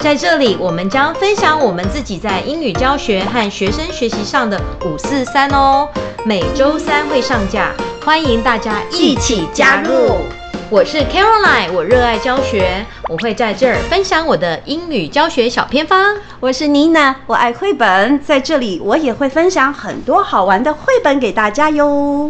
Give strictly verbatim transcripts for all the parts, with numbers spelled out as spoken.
在這裡，我們將分享我們自己在英語教學和學生學習上的五四三哦，每周三會上架，歡迎大家一起加入。我是 Caroline， 我熱愛教學，我會在這兒分享我的英語教學小偏方。 我是 Nina， 我愛繪本，在這裡我也會分享很多好玩的繪本給大家喲。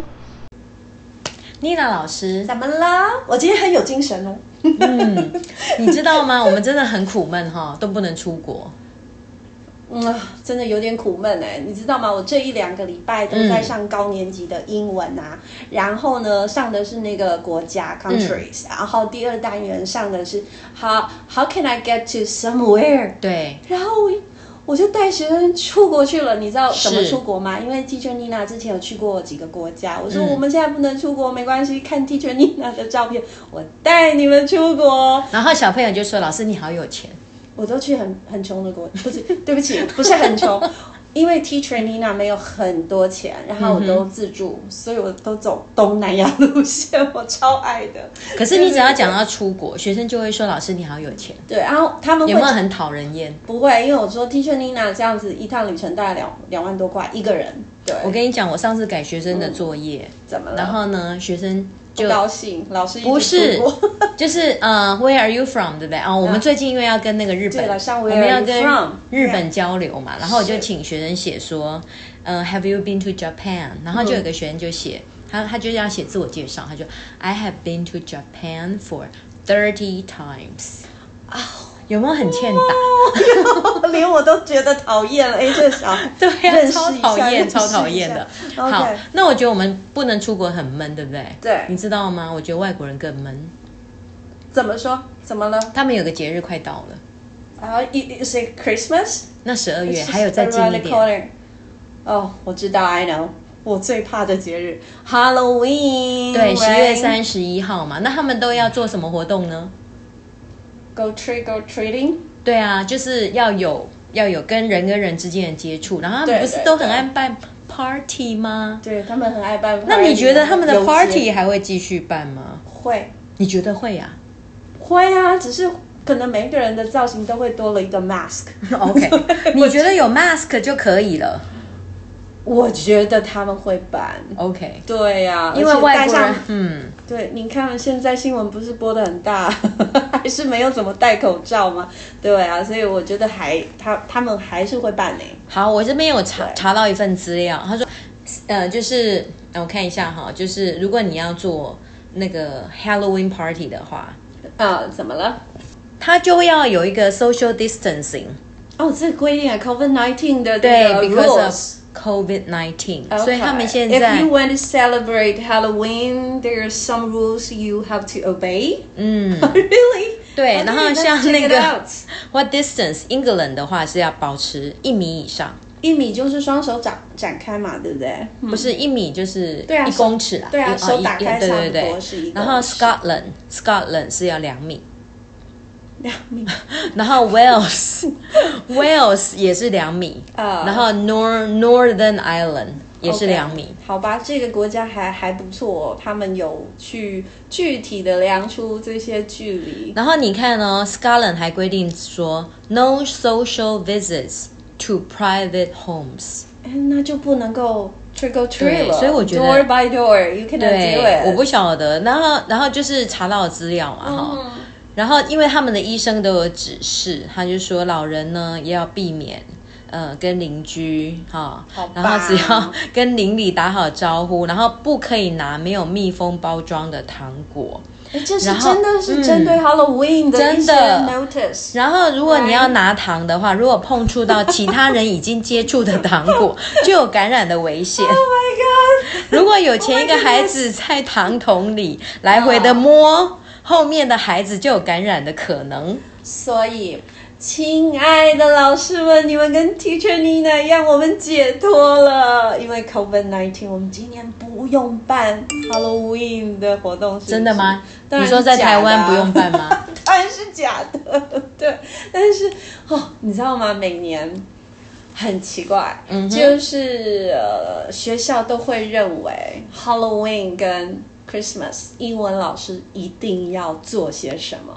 Nina 老師， 怎麼了？我今天很有精神哦。 嗯，你知道嗎？我們真的很苦悶哈，都不能出國。 嗯，真的有點苦悶哎，你知道嗎？我這一兩個禮拜都在上高年級的英文啊，嗯、然後呢，上的是那個國家 countries，、嗯、然後第二單元上的是 how how can I get to somewhere？ 對， 然後我我就帶學生出國去了。你知道怎麼出國嗎？因為 Teacher Nina 之前有去過幾個國家，我說我們現在不能出國，嗯、沒關係，看 Teacher Nina 的照片，我帶你們出國。 然後小朋友就說：“老師，你好有錢。” 我都去很很窮的國，不是，對不起，不是很窮，因為 Teacher Nina 沒有很多錢，然後我都自助，嗯、所以我都走東南亞路線，我超愛的。 可是你只要講到出國，對對對，學生就會說：“老師，你好有錢。” 對，然後他們會有沒有很討人厭？ 不會，因為我說 Teacher Nina 這樣子一趟旅程大概兩兩萬多塊一個人。對， 我跟你講，我上次改學生的作業，嗯、怎麼了？然後呢，學生就不高興，老師不是，就是呃、uh, ，Where are you from？ 對不對？哦、uh, 我們最近因為要跟那個日本，我們要跟日本交流嘛， yeah. 然後我就請學生寫說，呃、uh, ，Have you been to Japan？ 然後就有個學生就寫，嗯、他他就要寫自我介紹，他就 I have been to Japan for thirty times。啊、oh.。有沒有很欠打？ 連我都覺得討厭了。哎，這小孩對呀、啊，超討厭，超討厭的。Okay. 好，那我覺得我們不能出國很悶，對不對？ 對， 你知道嗎？我覺得外國人更悶。 怎麼說？怎麼了？ 他們有個節日快到了。 啊、uh, ，Is it Christmas？ 那十二月還有再近一點。 哦，oh, 我知道 ，I know。我最怕的節日 Halloween。 對，十月三十一號嘛。那他們都要做什麼活動呢 ？Go trick or treating？ 對啊，就是要有要有跟人跟人之間的接觸，然後他們不是都很愛辦 party 嗎？ 對，他們很愛辦 party。 那你覺得他們的 party 還會繼續辦嗎？ 會。 你覺得會啊？ 會啊，只是可能每一個人的造型都會多了一個 mask。 OK， 你覺得有 mask 就可以了？ 我覺得他們會辦 ，OK， 對呀、啊， 因為外國人，嗯， 對，你看現在新聞不是播得很大，還是沒有怎麼戴口罩嗎？對啊，所以我覺得還他他們還是會辦呢。 好，我這邊有查查到一份資料，他說，呃，就是我看一下哈，就是如果你要做那個 Halloween party 的話， 啊，怎麼了？ 他就要有一個 social distancing。 哦，這個規定啊 ，COVID nineteen 的對 ，because of COVID nineteen， okay. 所以他們現在 If you want to celebrate Halloween, there are some rules you have to obey. 嗯 Really? 對， okay, 然後像那個 What distance England 的話是要保持一米以上， 一米就是雙手展展開嘛，對不對？ 不是一米就是一公尺啦， 對啊，手打開對對對是一。 然後 Scotland Scotland 是要兩米。 兩米， 然後 Wales Wales 也是兩米，呃、然後 Nor Northern Ireland 也是兩米。 Okay, 好吧，這個國家還還不錯哦，他們有去具體的量出這些距離。 然後你看哦 Scotland 還規定說 No social visits to private homes， 那就不能夠 trick or treat 了。 所以我覺得 door by door you cannot do it。 我不曉得，然後然後就是查到的資料嘛哈。嗯，然後，因為他們的醫生都有指示，他就說老人呢也要避免，呃，跟鄰居哈，哦、然後只要跟鄰里打好招呼，然後不可以拿沒有密封包裝的糖果。 哎，這是真的是針對 Halloween 的一些 notice。 然後，如果你要拿糖的話，如果碰觸到其他人已經接觸的糖果，就有感染的危險。Oh my god！ 如果有前一個孩子在糖桶裡來回的摸。Oh. 後面的孩子就有感染的可能， 所以，親愛的老師們，你們跟 Teacher Nina 一樣，我們解脫了，因為 COVID nineteen， 我們今年不用辦 Halloween 的活動，是不是？ 真的嗎？ 當然你說在台灣不用辦嗎？ 當然是假的，對。但是哦，你知道嗎？每年很奇怪，嗯、就是呃，學校都會認為 Halloween 跟Christmas 英文老師一定要做些什麼？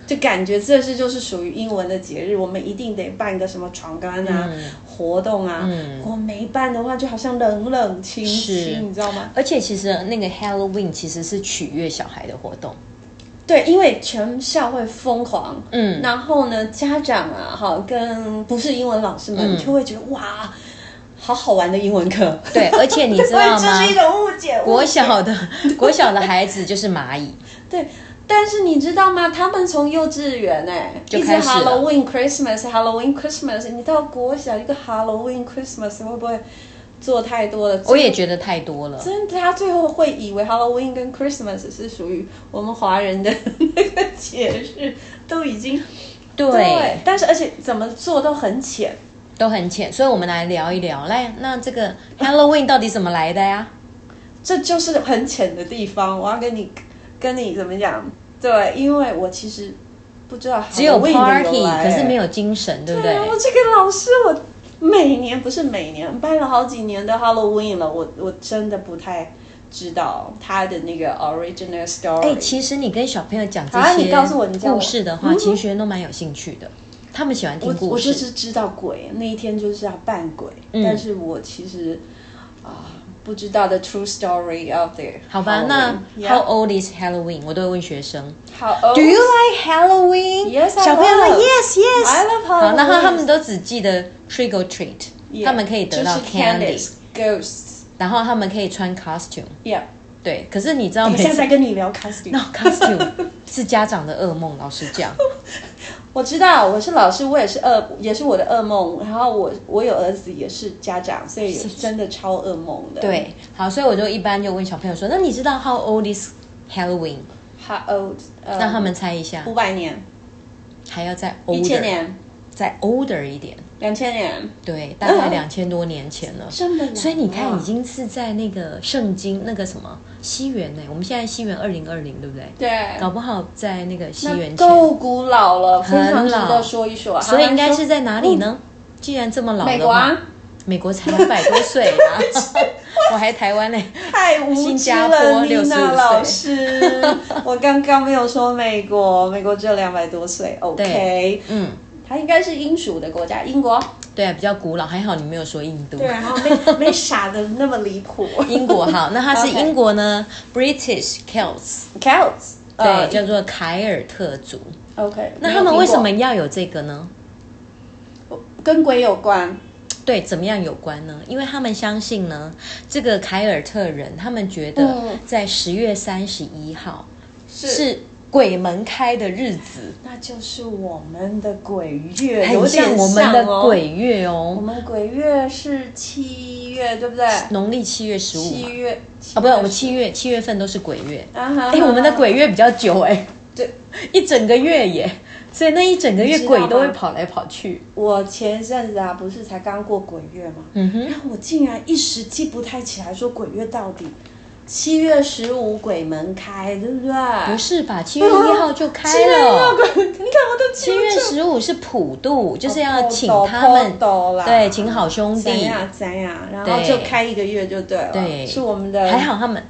就感覺這是就是屬於英文的節日，我們一定得辦個什麼闖關啊、嗯、活動啊。嗯，我沒辦的話，就好像冷冷清清，你知道嗎？ 而且其實那個 Halloween 其實是取悅小孩的活動。 對，因為全校會瘋狂，嗯，然後呢，家長啊，哈，跟不是英文老師們、嗯、就會覺得哇，好好玩的英文課。對， 而且你知道嗎？ 這是一種誤解。 國小的國小的孩子就是螞蟻。 對，但是你知道嗎？他們從幼稚園哎，就開始 Halloween Christmas，Halloween Christmas， 你到國小一個 Halloween Christmas 會不會？做太多了， 我也覺得太多了。 真的，他最後會以為 Halloween 跟 Christmas 是屬於我們華人的那個節日，都已經對, 對。但是而且怎麼做都很淺， 都很淺。所以我們來聊一聊，來，那這個 Halloween 到底怎麼來的呀？ 這就是很淺的地方，我要跟你跟你怎麼講？對，因為我其實不知道 Halloween 只有 party， 可是沒有精神，對不對？ 對，我這個老師我。每年不是每年辦了好幾年的 Halloween 了，我我真的不太知道他的那個 original story。哎， 其實你跟小朋友講這些故事的話，其實學生都蠻有興趣的，他們喜歡聽故事。 我, 我就是知道鬼，那一天就是要扮鬼，嗯、但是我其實啊、呃、不知道 the true story of the。 好吧，那 How old is Halloween？ 我都會問學生。 How old? Do you like Halloween? Yes, I love. 小朋友說 Yes, yes. I love Halloween. 好，然後他們都只記得 trick or treat，、yeah, 他們可以得到 candy。Ghosts。然後他們可以穿 costume。Yeah。對，可是你知道， 我現在在跟你聊 costume。No costume 是家長的噩夢，老實講。 我知道，我是老師，我也是噩，也是我的噩夢。然後我我有兒子也是家長，所以真的超噩夢的。 對，好，所以我就一般就問小朋友說：“那你知道 How old is Halloween？” How old？、Um, 讓他們猜一下。 五百年， 還要再 older， 一千年， 再 older 一點。 兩千年， 對，大概兩千多年前了。真的、嗯，所以你看，已經是在那個聖經那個什麼西元呢？我們現在西元二零二零，對不對？ 對， 搞不好在那個西元前， 夠古老了，非常值得說一說。 所以應該是在哪裡呢？嗯、既然這麼老的話，美國啊，美國才兩百多歲啊，我還台灣呢， 太無知了，新加坡六十五歲。老師，我剛剛沒有說美國，美國只有兩百多歲。OK， 嗯。它應該是英屬的國家，英國。 對啊，比較古老，還好你沒有說印度。 對，然後沒沒傻的那麼離譜。 英國好，那它是英國呢、okay. ，British Celts，Celts， 對、uh, 叫做凱爾特族。OK，那他們為什麼要有這個呢？ 跟鬼有關。 對，怎麼樣有關呢？因為他們相信呢，這個凱爾特人，他們覺得在十月三十一號、嗯、是。是鬼門開的日子， 那就是我們的鬼月， 很像我們的鬼月哦。 我們鬼月是七月，對不對？ 農曆七月十五。 七月啊，不是，我們七月七月份都是鬼月。啊哈。哎，我們的鬼月比較久哎，對，一整個月耶，所以那一整個月鬼都會跑來跑去。 我前陣子啊，不是才剛過鬼月嗎？嗯哼。然後我竟然一時記不太起來，說鬼月到底。七月十五鬼門開，對不對？ 不是吧？七月一號就開了。 你看我都七月十五是普渡，就是要請他們，對，請好兄弟。 怎樣怎樣，然後就開一個月就對了。對，是我們的。 還好他們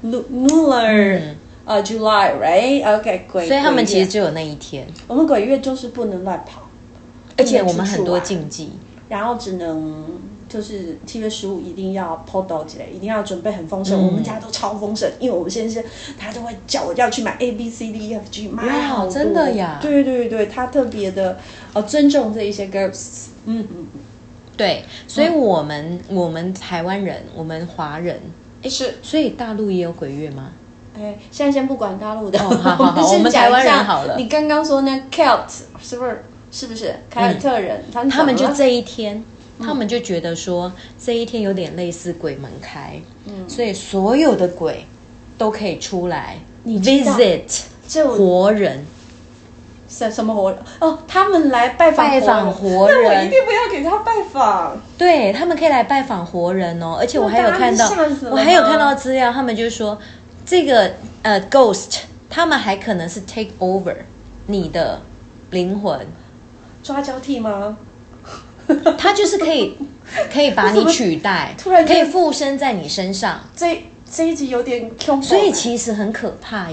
lunar，呃 July，right？OK， 鬼。 所以他們其實只有那一天。 我們鬼月就是不能亂跑， 而且我們很多禁忌， 然後只能。就是七月十五一定要 podo 之類，一定要準備很豐盛、嗯。我們家都超豐盛，因為我們先生他都會叫我要去買 A B C D E F G， 買好多。 真的呀？ 對對對，他特別的呃尊重這一些 ghosts。嗯嗯， 對，所以我們、嗯、我們台灣人，我們華人，哎是，所以大陸也有鬼月嗎？ 哎，現在先不管大陸的， 哦、好好好，我們台灣人好了。 你剛剛說那 Celt 是不是？是不是凱爾特人？ 嗯、他們就這一天。他們就覺得說這一天有點類似鬼門開，嗯，所以所有的鬼都可以出來你 visit 活人， 什什麼活人？哦，他們來拜訪拜訪活人， 那我一定不要給他拜訪。 對，他們可以來拜訪活人哦，而且我還有看到，我還有看到資料，他們就是說這個呃 ghost，他們還可能是 take over 你的靈魂， 抓交替嗎？ 他就是可以，可以把你取代，突然可以附身在你身上。 這這一集有點恐怖， 所以其實很可怕呀。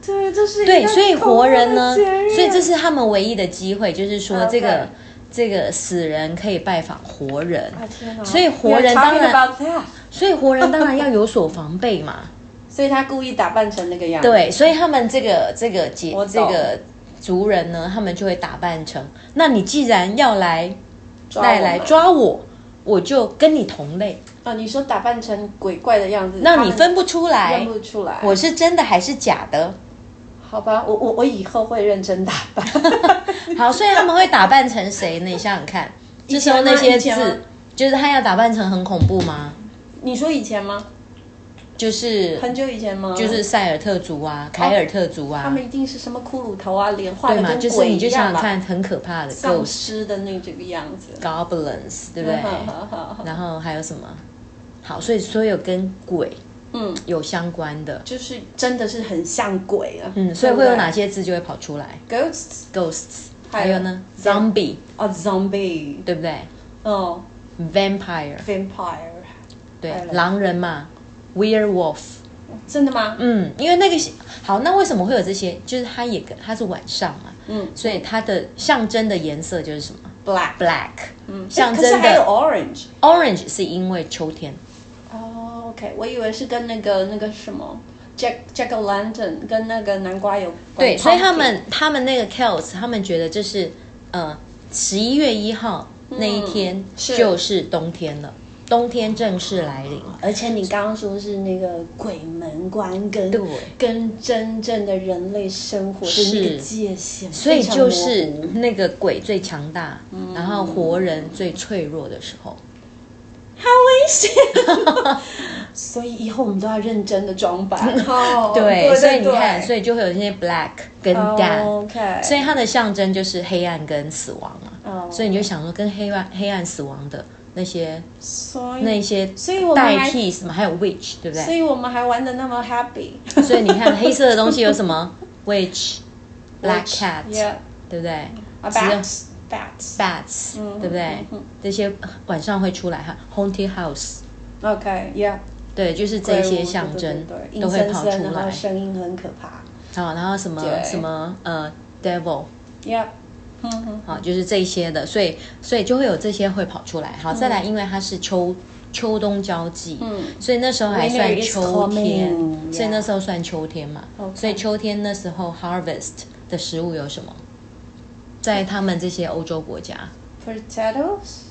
對，這是一個對，所以活人呢， 所所以這是他們唯一的機會，就是說這個。 Okay. 這個死人可以拜訪活人， 啊、 所以活人當然，所以活人當然要有所防備嘛。 所以他故意打扮成那個樣子。 對，所以他們這個這個節這個族人呢，他們就會打扮成。那你既然要來來來抓我，我就跟你同類啊。你說打扮成鬼怪的樣子， 那你分不出來， 分不出來， 我是真的還是假的？ 好吧，我我我以後會認真打扮。 好，所以他們會打扮成誰呢？你想想看，這時候那些字，就是他要打扮成很恐怖嗎？ 你說以前嗎？ 就是很久以前嗎？ 就是塞爾特族啊，凱爾特族啊， 他們一定是什麼骷髏頭啊，臉畫的跟鬼一樣吧？ 就是你就想想看，很可怕的喪屍的那這個樣子 ，goblins， 對不對？然後還有什麼？好，所以所有跟鬼。嗯，有相關的， 就是真的是很像鬼啊。 嗯，所以會有哪些字就會跑出來 ？Ghosts，Ghosts， 還有呢 ？Zombie， 哦 ，Zombie， 對不對？ 哦 ，Vampire，Vampire， 對，狼人嘛 ，Werewolf， 真的嗎？ 嗯，因為那個好，那為什麼會有這些？就是它也它是晚上嘛，嗯，所以它的象徵的顏色就是什麼 ？Black，Black， 嗯，象徵的。 可是還有 Orange，Orange 是因為秋天。 哦 ，OK， 我以為是跟那個那個什麼 Jack Jack O' Lantern 跟那個南瓜有關。 對，所以他們他們那個 Celts 他們覺得這是呃十一月一號那一天就是冬天了，冬天正式來臨。 而且你剛剛說是那個鬼門關跟跟真正的人類生活的那個界限， 所以就是那個鬼最強大，然後活人最脆弱的時候。 好危險，所以以後我們都要認真的裝扮。哦， 對，所以你看，所以就會有那些 black 跟 death， 所以它的象徵就是黑暗跟死亡嘛。所以你就想說，跟黑暗黑暗死亡的那些，那些代替什麼？還有 witch， 對不對？ 所以我們還玩得那麼 happy。 所以你看，黑色的東西有什麼 ？witch、black cat， 對不對？Bats， bats， 對不對？這些晚上會出來哈 ，haunted house。OK，yeah， 對，就是這些象徵都會跑出來， 聲音很可怕。 好，然後什麼什麼呃 ，devil，yeah， 好，就是這些的，所以所以就會有這些會跑出來。好，再來，因為它是秋秋冬交際，所以那時候還算秋天，所以那時候算秋天嘛。所以秋天那時候 harvest 的食物有什麼？在他們這些歐洲國家 ，potatoes，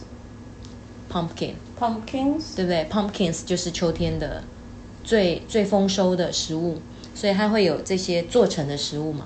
pumpkin， pumpkins， 對不對 ？pumpkins 就是秋天的最最豐收的食物，所以它會有這些做成的食物嘛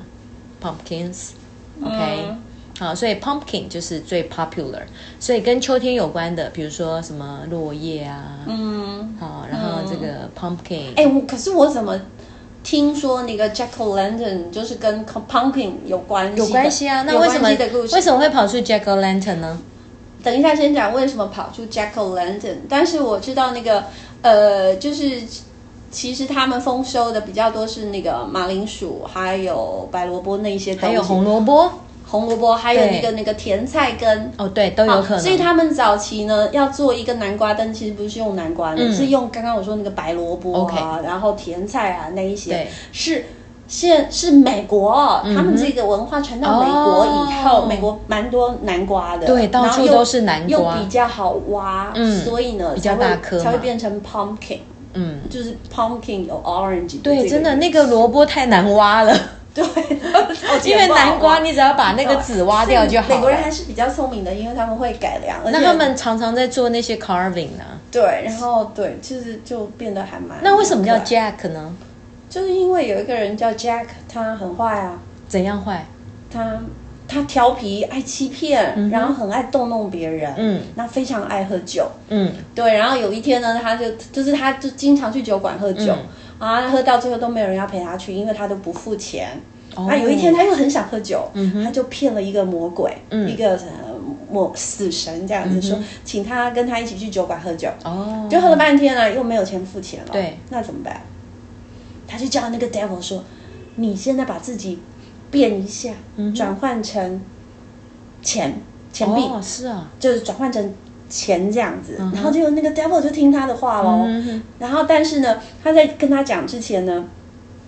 ，pumpkins，OK，、okay? 嗯、好，所以 pumpkin 就是最 popular， 所以跟秋天有關的，比如說什麼落葉啊，嗯，好，然後這個 pumpkin， 哎、欸，可是我怎麼？聽說那個 Jack O' Lantern 就是跟 pumpkin 有關係， 有關係啊。那為什麼為什麼會跑出 Jack O' Lantern 呢？ 等一下先講為什麼跑出 Jack O' Lantern。但是我知道那個呃，就是其實他們豐收的比較多是那個馬鈴薯，還有白蘿蔔那一些東西， 還有紅蘿蔔。 紅蘿蔔，還有那個那個甜菜根哦，對，都有可能。 所以他們早期呢，要做一個南瓜燈，其實不是用南瓜的，嗯、是用剛剛我說那個白蘿蔔啊， okay, 然後甜菜啊那一些。對，是現是美國、哦嗯，他們這個文化傳到美國以後，哦、美國蠻多南瓜的， 對，到處都是南瓜， 又比較好挖，嗯、所以呢， 比較大顆， 才會變成 pumpkin， 嗯，就是 pumpkin 有 orange。 對，真的那個蘿蔔太難挖了。對，因為南瓜你只要把那個籽挖掉就好了。 美國人還是比較聰明的，因為他們會改良。 那他們常常在做那些 carving 呢？ 對，然後對，其實就變得還蠻…… 那為什麼叫 Jack 呢？ 就是因為有一個人叫 Jack， 他很壞啊。 怎樣壞？ 他他調皮，愛欺騙、嗯，然後很愛逗弄別人，嗯，那非常愛喝酒，嗯，對。然後有一天呢，他就就是他就經常去酒館喝酒。嗯啊，喝到最後都沒有人要陪他去，因為他都不付錢。Oh. 啊，有一天他又很想喝酒，嗯、他就騙了一個魔鬼，嗯、一個呃魔死神這樣子、嗯、說，請他跟他一起去酒館喝酒。哦、oh.，就喝了半天了，又沒有錢付錢了。對，那怎麼辦？他就叫那個 devil 說：“你現在把自己變一下，嗯、轉換成錢錢幣。哦，是啊，就是轉換成。”錢這樣子，嗯、然後就那個 devil 就聽他的話咯、嗯、然後但是呢，他在跟他講之前呢，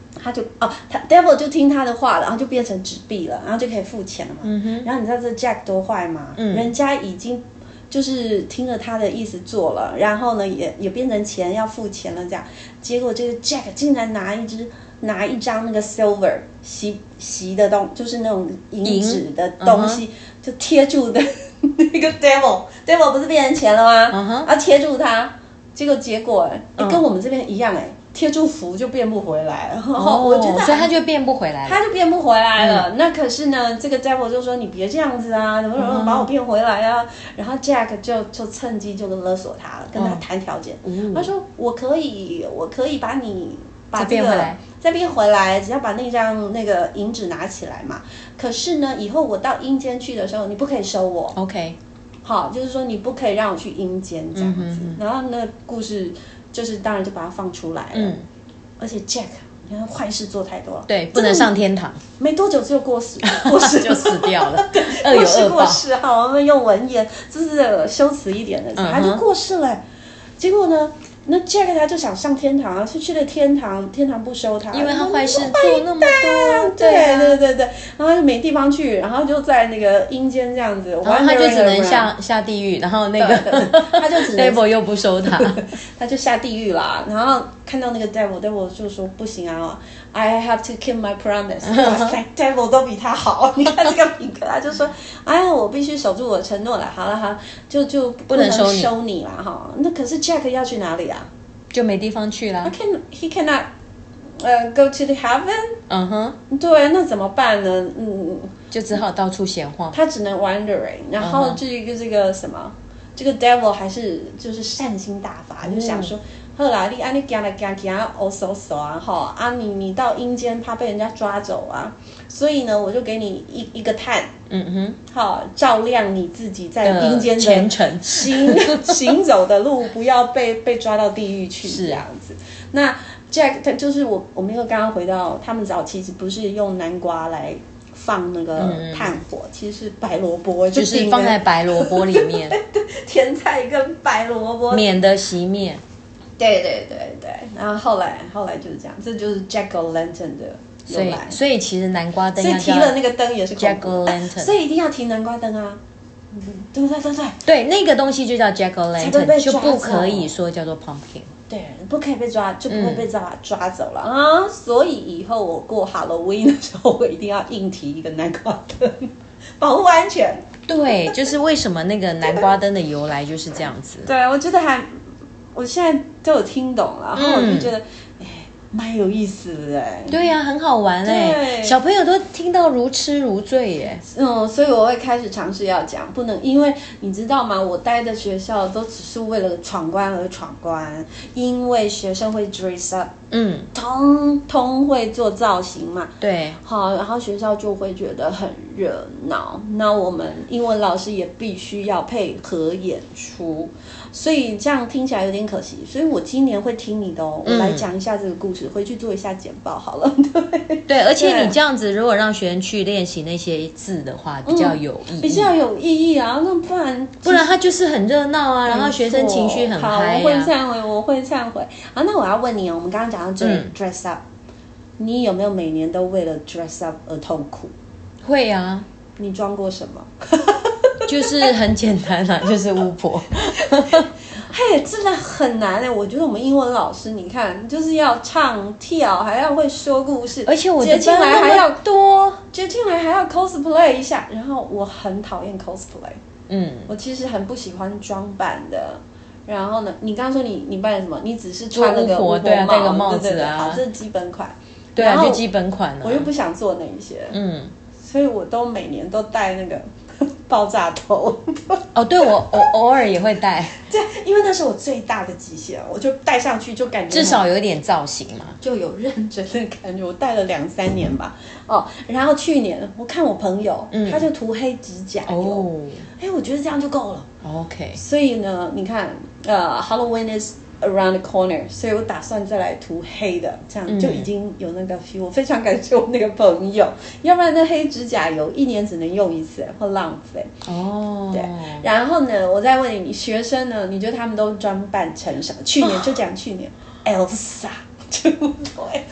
他就哦，他 Devil 就聽他的話了，然後就變成紙幣了，然後就可以付錢了嘛。嗯哼。然後你知道這 Jack 多壞嗎？嗯。人家已經就是聽了他的意思做了，然後呢也也變成錢要付錢了這樣，結果這個 Jack 竟然拿一支拿一張那個 silver 吸吸的東，就是那種銀紙的東西，嗯、就貼住的那個 Devil，Devil Devil 不是變成錢了嗎？嗯哼。啊，貼住他，結果結果哎、欸嗯，跟我們這邊一樣哎、欸。貼住符就變不回來了，哦、我覺得， 所以他就變不回來了， 他就變不回來了。嗯、那可是呢，這個 Devil 就說你別這樣子啊，怎麼怎麼把我變回來啊？嗯、然後 Jack 就就趁機就勒索他了，跟他談條件。嗯、他說我可以，我可以把你把這個再變回來，再變回來，只要把那張那個銀紙拿起來嘛。可是呢，以後我到陰間去的時候，你不可以收我。OK， 好，就是說你不可以讓我去陰間這樣子。嗯、然後那個故事。就是當然就把它放出來了，嗯，而且 Jack 你看壞事做太多了， 對，不能上天堂， 沒多久就過世，過世就死掉了， 對， 惡有惡報，過世過世好，我們用文言就是修辭一點的，嗯、他就過世了，結果呢？那 Jack 他就想上天堂啊，是去了天堂，天堂不收他， 因為他壞事做那麼多， 對對對對對，然後他就沒地方去，然後就在那個陰間這樣子， 然後他就只能下下地獄，然後那個他就只能 Devil 又不收他， 他就下地獄啦，然後看到那個 Devil，Devil 就說不行啊 ，I have to keep my promise， 哇塞，Devil 都比他好，你看這個品格，他就說，哎呀，我必須守住我的承諾了，好了好，就就不能收你收你了哈，那可是 Jack 要去哪裡啊？ 就沒地方去了。 He can he cannot, 呃、uh, go to the heaven。嗯哼。對，那怎麼辦呢？嗯， 就只好到處閒晃。 他只能 wandering， 然後這個這個什麼，這個 devil 還是就是善心大發，嗯、就想說，好啦，你啊你行來行去啊，哦嗖嗖啊，哈啊你你到陰間怕被人家抓走啊，所以呢，我就給你一一個炭，嗯哼，好照亮你自己在陰間的前程行行走的路，不要被被抓到地獄去，是這樣子。那 Jack 他就是我我們又剛剛回到他們早期不是用南瓜來放那個炭火，嗯、其實是白蘿蔔， 就是放在白蘿蔔裡面， 甜菜跟白蘿蔔， 免得熄滅。 對對對對，然後後來後來就是這樣，這就是 Jack-o'-lantern 的由來。 所以所以其實南瓜燈， 所以提了那個燈也是 Jack-o'-lantern， 所以一定要提南瓜燈啊。嗯，對對對對， 對那個東西就叫 Jack-o'-lantern， 就不可以說叫做 pumpkin。 對，不可以被抓，就不會被抓、嗯、抓走了啊。所以以後我過 Halloween 的時候，我一定要硬提一個南瓜燈，保護安全。 對，就是為什麼那個南瓜燈的由來就是這樣子。 對，我覺得還。我現在都有聽懂了，然後我就覺得，哎、嗯，蠻有意思的哎。 對呀、啊，很好玩哎，小朋友都聽到如痴如醉耶。 嗯，所以我會開始嘗試要講，不能，因為你知道嗎？我待的學校都只是為了闖關而闖關，因為學生會 dress up， 嗯，通通會做造型嘛。對，好，然後學校就會覺得很熱鬧，那我們英文老師也必須要配合演出。所以這樣聽起來有點可惜，所以我今年會聽你的哦，我來講一下這個故事，嗯、回去做一下簡報好了。對， 對，而且你這樣子，如果讓學生去練習那些字的話，比較有意義，嗯、比較有意義啊。那不然不然他就是很熱鬧啊，然後學生情緒很嗨、啊。 好，我會懺悔，我會懺悔。好，那我要問你哦，我們剛剛講到這、嗯、dress up， 你有沒有每年都為了 dress up 而痛苦？ 會啊。 你裝過什麼？ 就是很簡單啦、啊，就是巫婆。 嘿，真的很難哎！我覺得我們英文老師，你看，就是要唱跳，還要會說故事， 而且我接進來還要多，接進來還要 cosplay 一下。然後我很討厭 cosplay， 嗯，我其實很不喜歡裝扮的。然後呢，你剛剛說你你扮的什麼？你只是穿那個巫婆帽，對啊，戴個帽子啊，對對對，好，這是基本款。 對啊，就基本款了、啊。 我又不想做那一些，嗯，所以我都每年都戴那個。爆炸頭哦，對，我我偶爾也會戴， 對，因為那是我最大的極限，我就戴上去就感覺至少有一點造型嘛， 就有認真的感覺。我戴了兩三年吧，哦，然後去年我看我朋友，嗯、他就塗黑指甲油，哦，哎，我覺得這樣就夠了。OK，所以呢，你看，呃 ，Halloween is around the corner， 所以我打算再來塗黑的，這樣就已經有那個 feel。我非常感謝我那個朋友，要不然那黑指甲油一年只能用一次，會浪費。哦，對。然後呢，我再問你，你學生呢？你覺得他們都裝扮成什麼？去年就講去年、哦、，Elsa，對不對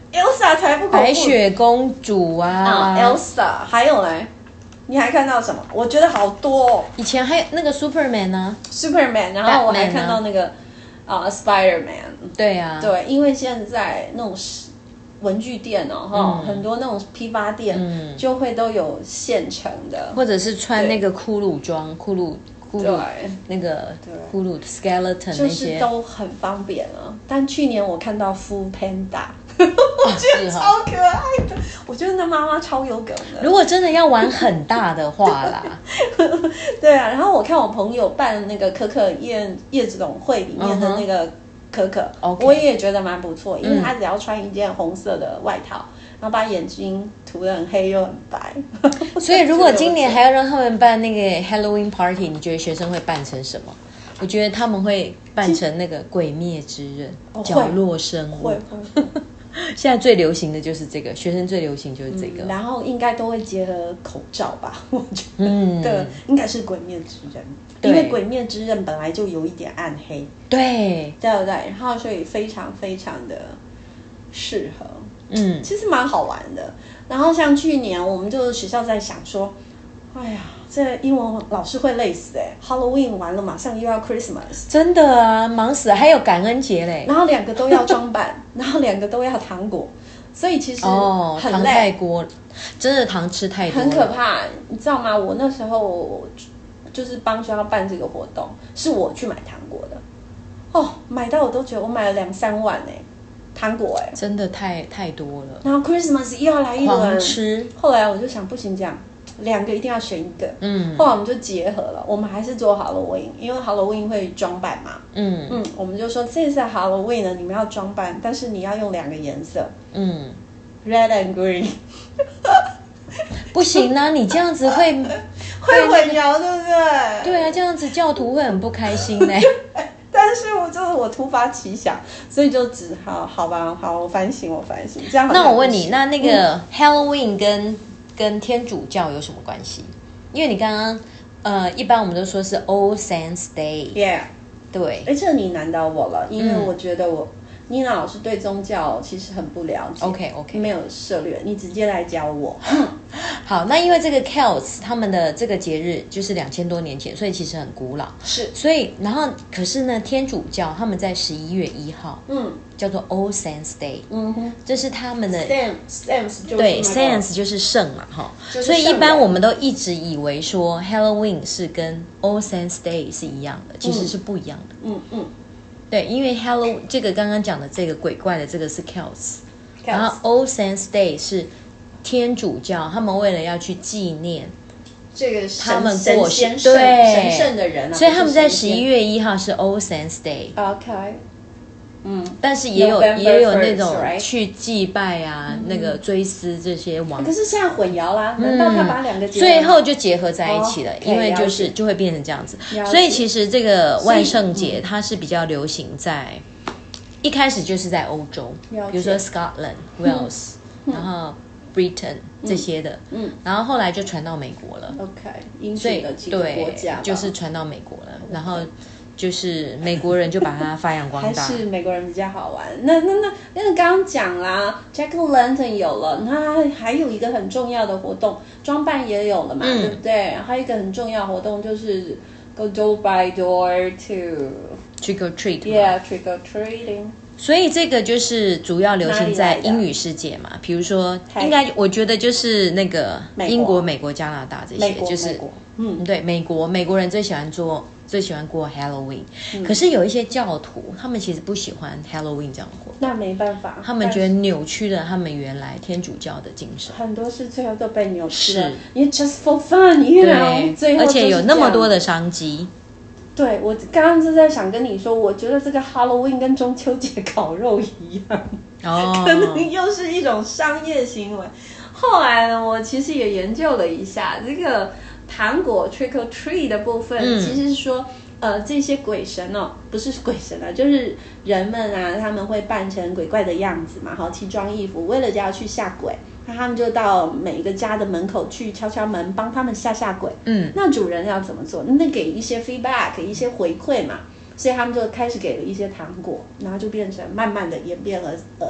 Elsa 才不恐怖。 白雪公主啊， 啊 Elsa， 還有嘞，你還看到什麼？我覺得好多哦。 以前還有那個 Superman 呢 ，Superman， 然後我還看到那個啊、呃、Spider-Man。 對啊， 對，因為現在那種文具店哦，哈、嗯，很多那種批發店、嗯、就會都有現成的， 或者是穿那個骷髏裝，骷髏。對，那個骷髏 skeleton 那些就是都很方便了。但去年我看到 Food Panda， 我覺得超可愛的，哦、我覺得那媽媽超有梗的。 如果真的要玩很大的話啦， 對啊。然後我看我朋友辦那個可可夜夜總會裡面的那個可可，嗯、我也覺得蠻不錯，因為他只要穿一件紅色的外套。嗯，然後把眼睛塗得很黑又很白， 所以如果今年還要讓他們辦那個 Halloween party， 你覺得學生會辦成什麼？我覺得他們會辦成那個《鬼滅之刃》哦、角落生物。會會會現在最流行的就是這個，學生最流行就是這個。 嗯、然後應該都會結合口罩吧？我覺得，嗯，對，應該是《鬼滅之刃》，因為《鬼滅之刃》本來就有一點暗黑， 對， 對不對？然後所以非常非常的適合。 嗯， 其實蠻好玩的。然後像去年，我們就學校在想說，哎呀，這英文老師會累死哎、欸、！Halloween 完了，馬上又要 Christmas， 真的啊，忙死了。還有感恩節嘞， 然後兩個都要裝扮，然後兩個都要糖果，所以其實哦， 很累， 糖太多，真的糖吃太多了， 很可怕。你知道嗎？我那時候就是幫學校辦這個活動，是我去買糖果的，哦，買到我都覺得我買了兩三萬哎、欸。糖果哎、欸， 真的太太多了。 然後 Christmas 又要來一輪， 狂吃。 後來我就想，不行，這樣兩個一定要選一個。嗯，後來我們就結合了，我們還是做 Halloween，因為 Halloween 會裝扮嘛。嗯嗯，我們就說這次 Halloween 呢，你們要裝扮，但是你要用兩個顏色。嗯 ，Red and Green。 不行啊，你這樣子會會混淆，對不對？ 對啊，這樣子教徒會很不開心呢、欸。 但是我就是我突發奇想，所以就只好好吧，好，我反省，我反省。這樣好。 那我問你，那那個 Halloween 跟、嗯、跟天主教有什麼關係？因為你剛剛呃，一般我們都說是 All Saints Day。Yeah。對。哎，這你難倒我了，因為我覺得我。嗯妮娜老師對宗教其實很不了解 ，OK OK，沒有涉獵，你直接來教我。 好，那因為這個 Celts 他們的這個節日就是兩千多年前，所以其實很古老。是，所以然後可是呢，天主教他們在十一月一號，嗯，叫做 All Saints Day，嗯哼，這是他們的 Saints， 對 Saints 就是聖嘛，哈，所以一般我們都一直以為說 Halloween 是跟 All Saints Day 是一樣的，其實是不一樣的。嗯嗯。對，因為 Halloween 這個剛剛講的這個鬼怪的這個是 Celts， 然後 All Saints Day 是天主教，他們為了要去紀念這個他們過世對神聖的人、啊，所以他們在十一月一號是 All Saints Day。OK， 嗯，但是也有 November 也有那種去祭拜啊， right? 那個追思這些王。可是現在混淆啦，難道他把兩個最後就結合在一起了？ Oh, okay, 因為就是就會變成這樣子。所以其實這個萬聖節它是比較流行在一開始就是在歐洲，比如說 Scotland、Wales，、嗯、然後 Britain、嗯、這些的，嗯，然後後來就傳到美國了。OK， 所以對，就是傳到美國了， okay. 然後。就是美國人就把它發揚光大，還是美國人比較好玩。那那那，因為剛剛講啦 Jack O' Lantern 有了，那還有一個很重要的活動，裝扮也有了嘛，嗯、對不對？還有一個很重要的活動就是 go door by door to trick or treat，yeah trick or treating。所以這個就是主要流行在英語世界嘛，比如說，應該我覺得就是那個英國、美國、加拿大這些，就是嗯，對，美國美國人最喜歡做。最喜歡過 Halloween，、嗯、可是有一些教徒，他們其實不喜歡 Halloween 這樣的活動。那沒辦法，他們覺得扭曲了他們原來天主教的精神。很多事最後都被扭曲了。你 just for fun，you know，最後而且有那麼多的商機。對，我剛剛就在想跟你說，我覺得這個 Halloween 跟中秋節烤肉一樣，哦，可能又是一種商業行為。後來呢，我其實也研究了一下這個。糖果 trick or treat 的部分，嗯、其實是說，呃，這些鬼神哦，不是鬼神啊，就是人們啊，他們會扮成鬼怪的樣子嘛，好，奇裝異服，為了就要去嚇鬼，那他們就到每一個家的門口去敲敲門，幫他們嚇嚇鬼。嗯，那主人要怎麼做？那給一些 feedback， 一些回饋嘛，所以他們就開始給了一些糖果，然後就變成慢慢的演變了，呃，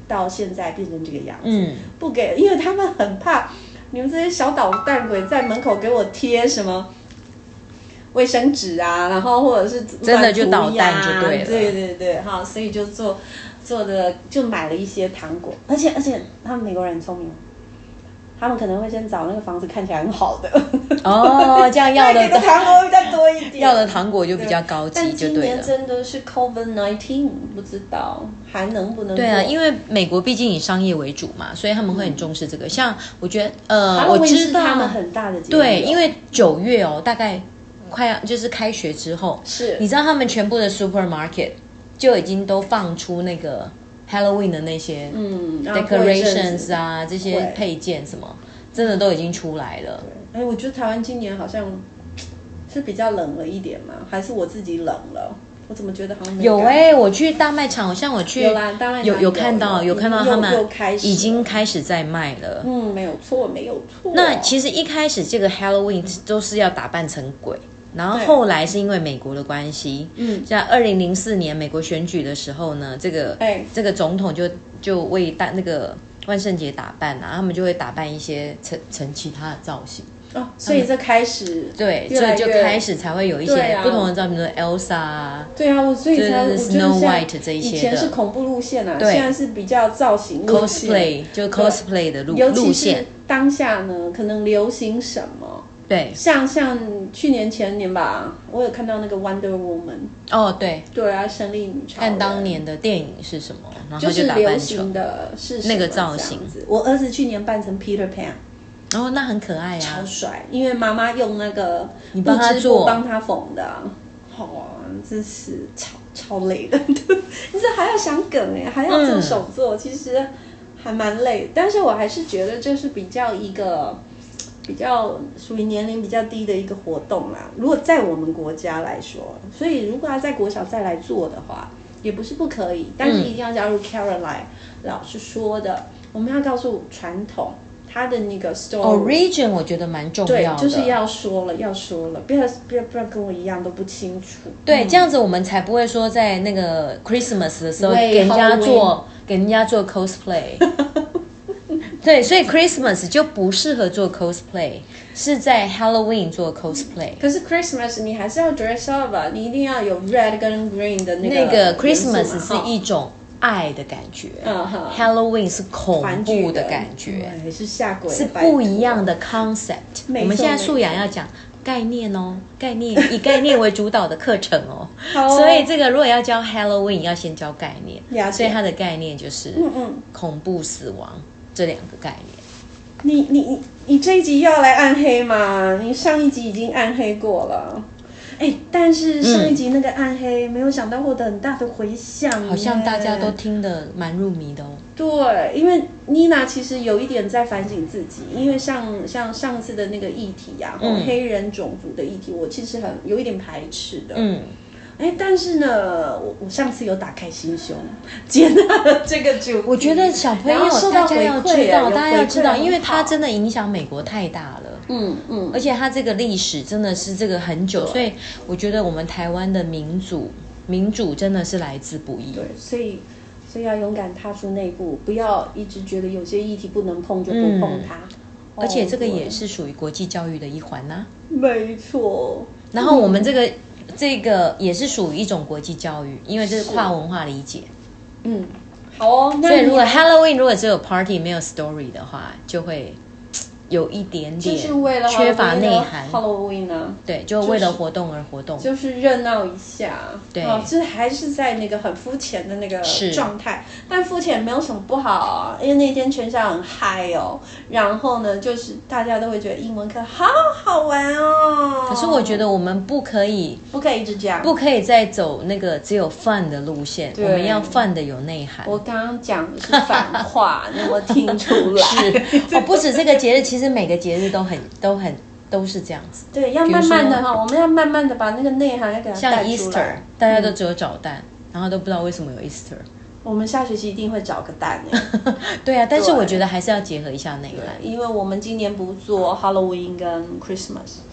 到現在變成這個樣子， 嗯， 不給，因為他們很怕你們這些小搗蛋鬼在門口給我貼什麼衛生紙啊，然後或者是真的就搗蛋就對了， 對對對，哈，所以就做做的就買了一些糖果，而且而且他們美國人很聰明。他們可能會先找那個房子看起來很好的哦，這樣要的糖果會再多一點， 要的糖果就比較高級，就對了。但今年真的是 COVID 十九，不知道還能不能做。 對啊，因為美國畢竟以商業為主嘛，所以他們會很重視這個。嗯、像我覺得，呃，我知道他們很大的節日。 對，因為九月哦，大概快要就是開學之後， 是你知道他們全部的 supermarket 就已經都放出那個。Halloween 的那些嗯 decorations 啊，這些配件什麼，真的都已經出來了。 哎，我覺得台灣今年好像是比較冷了一點嘛，還是我自己冷了？我怎麼覺得好像沒有哎、欸，我去大賣場，好像我去有啦，大賣場有有看到有看到他們已經開始在賣了。 嗯，沒有錯，沒有錯。 那其實一開始這個 Halloween 都是要打扮成鬼。然後後來是因為美國的關係，嗯，在二零零四年美國選舉的時候呢，這個、哎、這個總統就就為大那個萬聖節打扮啊，他們就會打扮一些成成其他的造型哦，所以這開始對，所以就開始才會有一些不同的造型，比如說 Elsa 啊， 對啊，我所以才就是 Snow White 這一些的， 以前是恐怖路線啊，現在是比較造型路線 cosplay 就 cosplay 的路路線， 尤其是當下呢，可能流行什麼。 對， 像像去年前年吧，我有看到那個 Wonder Woman。 哦，對， 對啊，勝利女超人。 看當年的電影是什麼，然後就打扮成流行的是那個造型。 我兒子去年扮成 Peter Pan， 哦，那很可愛啊， 超帥。因為媽媽用那個你幫他做， 幫他縫的，好啊，真是超超累的。你這還要想梗哎，還要做手作，嗯、其實還蠻累。但是我還是覺得這是比較一個。比較屬於年齡比較低的一個活動啦。如果在我們國家來說，所以如果要在國小再來做的話，也不是不可以，但是一定要加入 Caroline、嗯、老師說的，我們要告訴傳統它的那個 story。Origin 我覺得蠻重要的， 對，就是要說了，要說了，不要不要不要跟我一樣都不清楚。 對，嗯、這樣子我們才不會說在那個 Christmas 的時候給人家做給人家做 cosplay。對，所以 Christmas 就不適合做 cosplay， 是在 Halloween 做 cosplay。 可是 Christmas 你還是要 dress up 啊，你一定要有 red 跟 green 的那個。 那個 Christmas 是一種愛的感覺，嗯、Halloween 是恐怖的感覺， 對，是嚇鬼， 是不一樣的 concept。我們現在素雅要講概念哦，概念以概念為主導的課程哦。哦所以這個如果要教 Halloween， 要先教概念，所以它的概念就是嗯嗯恐怖死亡。這兩個概念， 你你你你這一集又要來暗黑嗎？你上一集已經暗黑過了，哎，但是上一集那個暗黑、嗯、沒有想到獲得很大的回響， 好像大家都聽得蠻入迷的哦。 對，因為妮娜其實有一點在反省自己，因為像像上次的那個議題呀、啊，嗯、黑人種族的議題，我其實很有一點排斥的。嗯。哎，但是呢，我我上次有打開心胸，接納了這個主題。 我覺得小朋友大家要知道，大家要知道，因為它真的影響美國太大了。嗯嗯，而且它這個歷史真的是這個很久，所以我覺得我們台灣的民主民主真的是來之不易。 對，所以所以要勇敢踏出那一步，不要一直覺得有些議題不能碰就不碰它。嗯哦、 而且這個也是屬於國際教育的一環吶、啊。 沒錯。 然後我們這個。嗯這個也是屬於一種國際教育，因為這是跨文化理解。 嗯，好哦。那所以如果 Halloween 如果只有 party 沒有 story 的話，就會有一點點缺乏內涵。 Halloween 呢？ 對，就為了活動而活動， 就是、就是熱鬧一下。 對， 哦，這還是在那個很膚淺的那個狀態，但膚淺沒有什麼不好啊，因為那天全校很嗨哦。然後呢，就是大家都會覺得英文課好好玩哦。 可是我覺得我們不可以， 不可以一直這樣， 不可以再走那個只有 fun 的路線，我們要 fun 的有內涵。 我剛剛講的是反話，你有沒有聽出來？ 是哦，不止這個節日，其實每個節日都很都很都是這樣子。 對，要慢慢的哈，我們要慢慢的把那個內涵要給它帶出來。 像 Easter，大家都只有找蛋，嗯、然後都不知道為什麼有 Easter。 我們下學期一定會找個蛋耶。 對啊，但是我覺得還是要結合一下內涵， 因為我們今年不做 Halloween 跟 Christmas。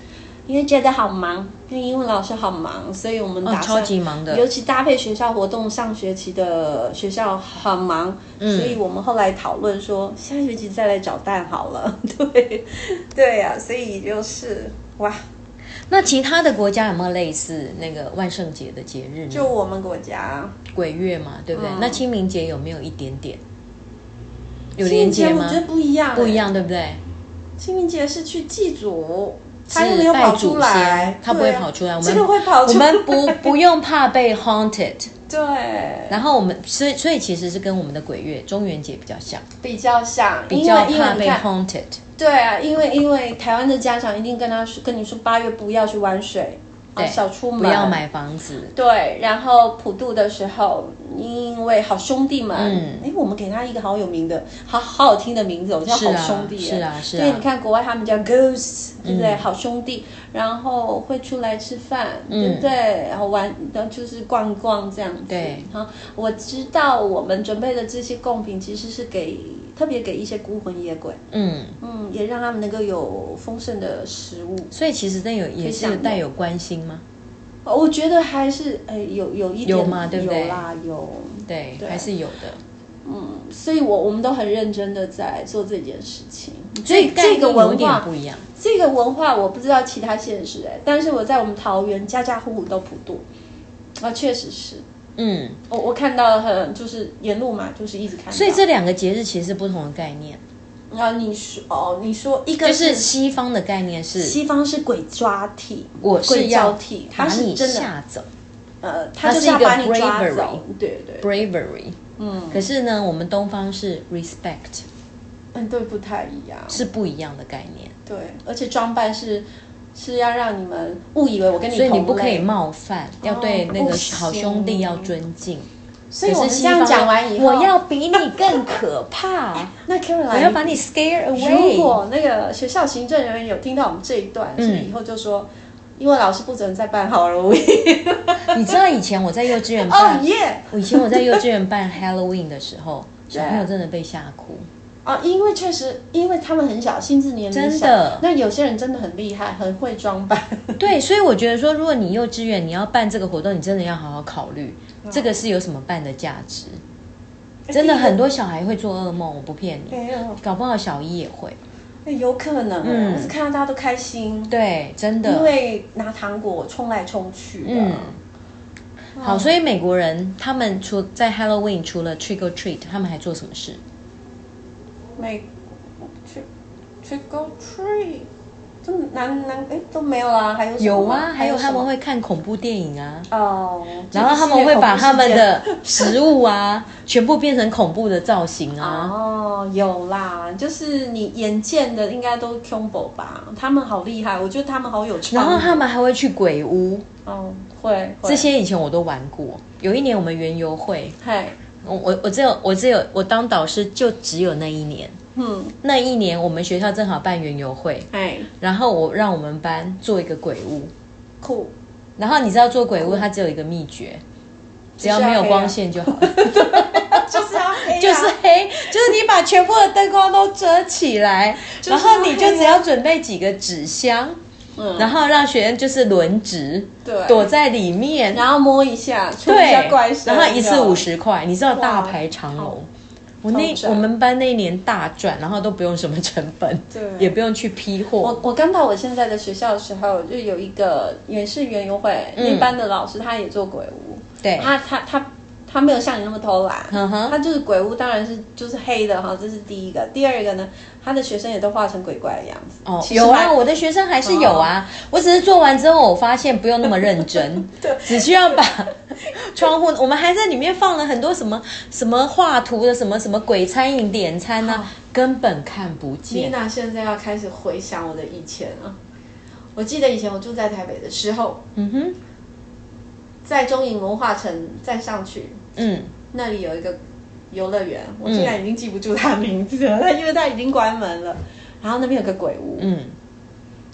因為覺得好忙，因為英文老師好忙，所以我們打算、 哦、超級忙的， 尤其搭配學校活動，上學期的學校很忙，嗯、所以我們後來討論說，下學期再來找蛋好了。對，對呀、啊，所以就是哇。 那其他的國家有沒有類似那個萬聖節的節日呢？ 就我們國家鬼月嘛，對不對？嗯、那清明節有沒有一點點？有連接嗎？ 我覺得不一樣、欸， 不一樣，對不對？清明節是去祭祖。他又沒有跑出來， 他不會跑出來。我們這個會跑出來， 我們不不用怕被 haunted。 對。 然後我們所以所以其實是跟我們的鬼月中元節比較像， 比較像， 比較怕被 haunted。 對啊，因為因為台灣的家長一定跟他說跟你說八月不要去玩水，對，少出門， 不要買房子。 對，然後普渡的時候，因為好兄弟們，嗯，哎，我們給他一個好有名的、好好好聽的名字，我叫好兄弟。 是啊，是啊。 所以你看國外他們叫 ghosts， 對不對？好兄弟，然後會出來吃飯，對不对？然後玩，然後就是逛逛這樣子。 對。 好，我知道我們準備的這些貢品其實是給特別給一些孤魂野鬼，嗯嗯，也讓他們能夠有豐盛的食物。 所以其實這有也是帶有關心嗎？ 我覺得還是誒有有一點有嗎？對不對？ 有啦，有， 對，還是有的。 嗯，所以我我們都很認真的在做這件事情。所以這個文化不一樣。 這個文化我不知道其他縣市哎，但是我在我們桃園家家戶戶都普渡，啊，確實是。嗯，我我看到很就是沿路嘛，就是一直看到。 所以這兩個節日其實是不同的概念。 啊，你說哦，你說一個是就是西方的概念是西方是鬼抓替， 我是要把你嚇走， 呃，他就是要把你抓走，對對 ，bravery， 嗯，可是呢，我們東方是 respect， 嗯，對，不太一樣， 是不一樣的概念， 對，而且裝扮是是要讓你們誤以為我跟你同類， 所以你不可以冒犯，哦、要對那個好兄弟要尊敬。 所以我們這樣講完以後， 我要比你更可怕。 那 Caroline， 我要把你 scare away。 如果那個學校行政人員有聽到我們這一段，是不是以後就說，因為老師不准再辦 Halloween。 你知道以前我在幼稚園辦， 哦耶！ 我以前我在幼稚園辦 Halloween 的時候，小朋友真的被嚇哭。 啊，因為確實，因為他們很小，心智年齡小，真的。那有些人真的很厲害，很會裝扮。 對，所以我覺得說，如果你幼稚園你要辦這個活動，你真的要好好考慮，嗯、這個是有什麼辦的價值。真的很多小孩會做噩夢，我不騙你，哎、搞不好小一也會。 哎、有可能，嗯，我是看到大家都開心。 對，真的， 因為拿糖果衝來衝去的。嗯。 好，所以美國人他們除在 Halloween 除了 trick or treat， 他們還做什麼事？ 美 trick trick or treat， 這難難哎都沒有啦，還有什麼？ 有啊，還有他們會看恐怖電影啊。 哦。 然後他們會把他們的食物啊，全部變成恐怖的造型啊。 哦，有啦，就是你眼見的應該都 combo 吧？他們好厲害，我覺得他們好有創意。 然後他們還會去鬼屋。 哦，會。 這些以前我都玩過。有一年我們園遊會。 嗨。 我我我只有我只有我當導師就只有那一年，嗯，那一年我們學校正好辦園遊會，哎，然後我讓我們班做一個鬼屋，酷，然後你知道做鬼屋它只有一個秘訣，只要沒有光線就好了， 就是要黑， 就是黑，就是你把全部的燈光都遮起來，然後你就只要準備幾個紙箱。嗯、然後讓學生就是輪值，對，躲在裡面， 然後摸一下，出一下怪聲， 然後一次五十塊，你知道大排長龍。我那我們班那一年大賺，然後都不用什麼成本，對，也不用去批貨。 我我剛到我現在的學校的時候，就有一個也是園遊會，嗯、那班的老師他也做鬼屋，對，他他他。他他沒有像你那麼偷懶，嗯、他就是鬼屋，當然是就是黑的哈，這是第一個。第二個呢，他的學生也都畫成鬼怪的樣子。哦， 有啊，我的學生還是有啊。哦、我只是做完之後，我發現不用那麼認真，對，只需要把窗戶，我們還在裡面放了很多什麼什麼畫圖的什麼什麼鬼餐飲點餐啊，哦、根本看不見。 Nina 現在要開始回想我的以前啊，我記得以前我住在台北的時候，嗯哼，在中影文化城再上去。嗯，那裡有一個遊樂園，我竟然已經記不住它名字了，嗯、因為它已經關門了。然後那邊有個鬼屋，嗯，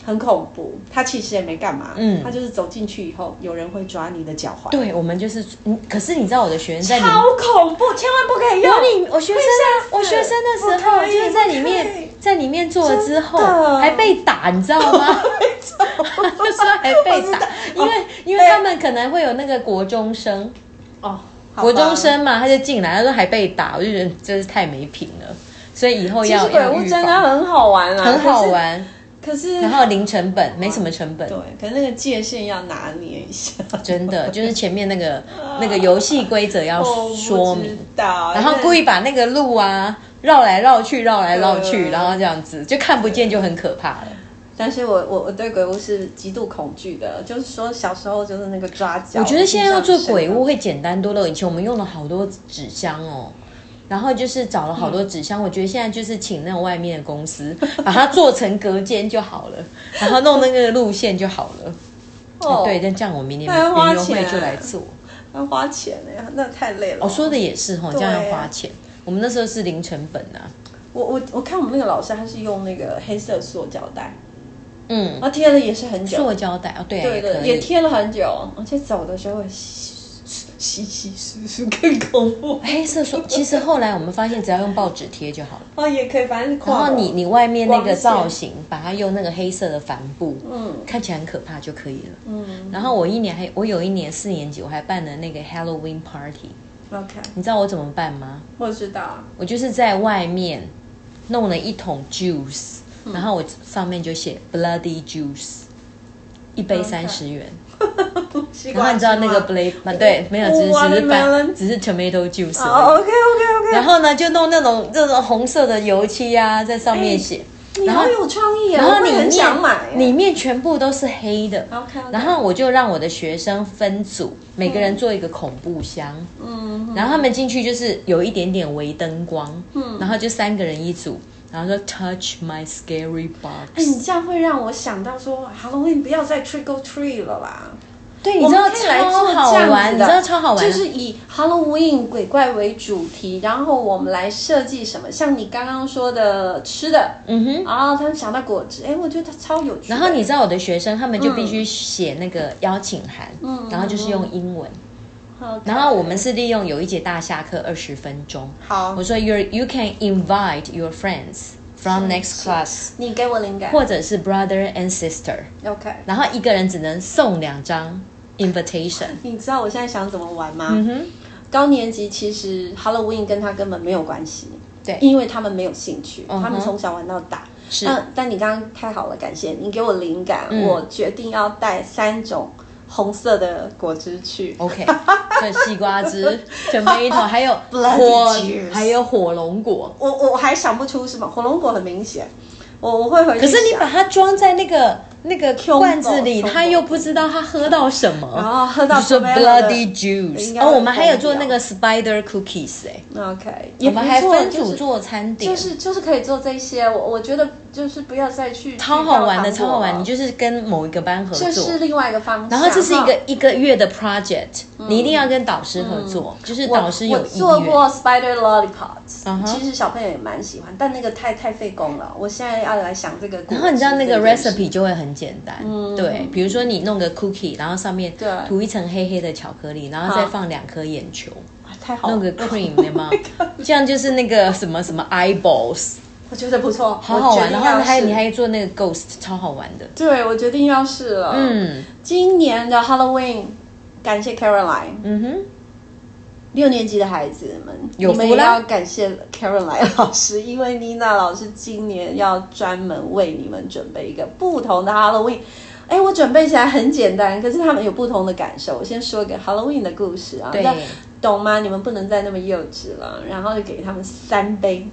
很恐怖。他其實也沒幹嘛，嗯，他就是走進去以後，有人會抓你的腳踝。 對，我們就是，嗯，可是你知道我的學生在裡面超恐怖，千萬不可以用。 我我學生我學生的時候就是在裡面，在裡面做了之後還被打，你知道嗎？就是還被打，因為、哦、因為他們可能會有那個國中生哦，國中生嘛，他就進來，他說還被打，我就覺得真是太沒品了。所以以後要，其實鬼屋真的很好玩啊， 很好玩。 可是， 然後零成本，沒什麼成本。 對，可是那個界限要拿捏一下。 真的，就是前面那個那個遊戲規則要說明，然後故意把那個路啊繞來繞去，繞來繞去，然後這樣子就看不見，就很可怕了。 但是我我我對鬼屋是極度恐懼的，就是說小時候就是那個抓腳。 我覺得現在要做鬼屋會簡單多了，以前我們用了好多紙箱哦。然後就是找了好多紙箱、嗯，我覺得現在就是請那種外面的公司把它做成隔間就好了，然後弄那個路線就好了。哦，對，但這樣我明年園遊會就來做。 要花錢呀，那太累了。 我、哦、說的也是哈，這樣要花錢。我們那時候是零成本啊。 我我我看我們那個老師他是用那個黑色塑膠袋，嗯，他貼了也是很久。塑膠袋哦，對、啊， 對對，也貼了很久，而且走的時候會稀稀疏疏更恐怖。黑色說，其實後來我們發現，只要用報紙貼就好了。 哦，也可以，反正是。 然後你你外面那個造型，把它用那個黑色的帆布，嗯，看起來很可怕就可以了。嗯。然後我一年還，我有一年四年級，我還辦了那個 Halloween party。OK。你知道我怎麼辦嗎？ 我知道。我就是在外面弄了一桶 juice，、嗯、然後我上面就寫 bloody juice， 一杯三十元。然後你知道那個 blade 嗎？對，沒有，只是只是翻，只是 tomato juice。 哦 OK OK OK。 然後呢，就弄那種這種紅色的油漆啊，在上面寫。 你好有創意啊！ 然後裡面很想買， 裡面全部都是黑的。 OK。 然後我就讓我的學生分組，每個人做一個恐怖箱。嗯。然後他們進去就是有一點點微燈光。嗯。然後就三個人一組。然後說 touch my scary box。 哎，你這樣會讓我想到說 Halloween 不要再 trick or treat 了啦。 對，你知道超好玩，你知道超好玩， 就是以 Halloween 鬼怪為主題，然後我們來設計什麼，像你剛剛說的吃的，嗯哼，然後他們想到果汁，哎，我覺得他超有趣。 然後你知道我的學生他們就必須寫那個邀請函，嗯，然後就是用英文。嗯、然後我們是利用有一節大下課二十分鐘，好，我說 you you can invite your friends from next class， 你給我靈感， 或者是 brother and sister，OK， 然後一個人只能送兩張 invitation。 你知道我現在想怎麼玩嗎？嗯哼，高年級其實 Halloween 跟他根本沒有關係，對，因為他們沒有興趣，嗯、他們從小玩到大。是，但但你剛剛太好了，感謝你給我靈感，嗯、我決定要帶三種紅色的果汁去。 OK， 對，西瓜汁、tomato， 還有火，還有火龍果。 我我還想不出什麼，火龍果很明顯。我我會回去。 可是你把它裝在那個那個罐子裡，他又不知道他喝到什麼。 然後喝到什麼 bloody juice。哦，我們還有做那個 spider cookies 哎。 OK， 我們還分組做餐點， 就是就是可以做這些。我我覺得就是不要再去。 超好玩的，超好玩！你就是跟某一個班合作， 這是另外一個方式。 然後這是一個一個月的 project，你一定要跟導師合作，就是導師有意願。 我做過 spider lollipops，其實小朋友也蠻喜歡，但那個太太費工了。我現在要來想這個。 然後你知道那個 recipe 就會很簡單，對，比如說你弄個 cookie， 然後上面塗一層黑黑的巧克力，然後再放兩顆眼球， 太好了， 弄個 cream 對嗎？這樣就是那個什麼什麼 eyeballs， 我覺得不錯， 好好玩。然後還你還做那個 ghost， 超好玩的。 對，我決定要試了。嗯，今年的 Halloween， 感謝 Caroline。嗯哼。六年級的孩子們，你們也要感謝 Caroline 老師，因為妮娜老師今年要專門為你們準備一個不同的 Halloween。哎，我準備起來很簡單，可是他們有不同的感受。我先說一個 Halloween 的故事啊，對，懂嗎？你們不能再那麼幼稚了。然後就給他們三杯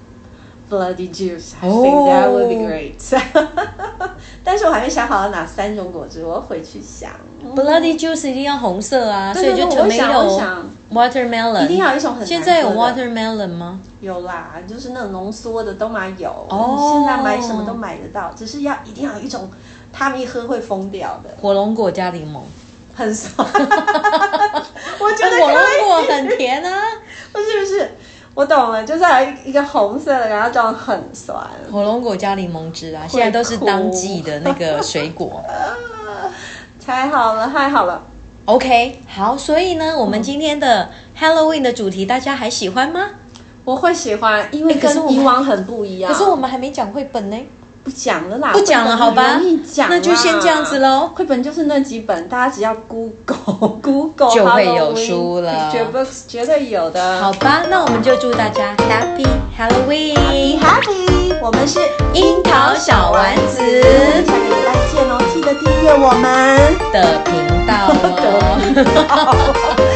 Bloody Juice，I think that would be great。但是我還沒想好哪三種果汁，我要回去想。 Bloody Juice 一定要紅色啊，所以就 tomato、watermelon， 一定要有一種很難喝的。 現在有 watermelon 嗎？ 有啦，就是那種濃縮的都買有。哦，你現在買什麼都買得到，只是要一定要有一種他們一喝會瘋掉的。 火龍果加檸檬， 很爽。我覺得火龍果很甜啊， 不是不是。 我懂了，就是還有一個紅色的，然後裝很酸。 火龍果加檸檬汁啊，現在都是當季的那個水果。 太好了，太好了。 OK， 好，所以呢，我們今天的 Halloween 的主題，大家還喜歡嗎？ 我會喜歡，因為跟以往很不一樣。 可是我們還沒講繪本呢。 不講了啦， 不講了，好吧？ 容易講， 那就先這樣子嘍。 繪本就是那幾本，大家只要 Google Google 就會有書了 ，Picture Books 絕對有的。 好吧，那我們就祝大家 Happy Halloween，Happy Happy。我們是櫻桃小丸子， 下個禮拜見哦，記得訂閱我們的頻道哦。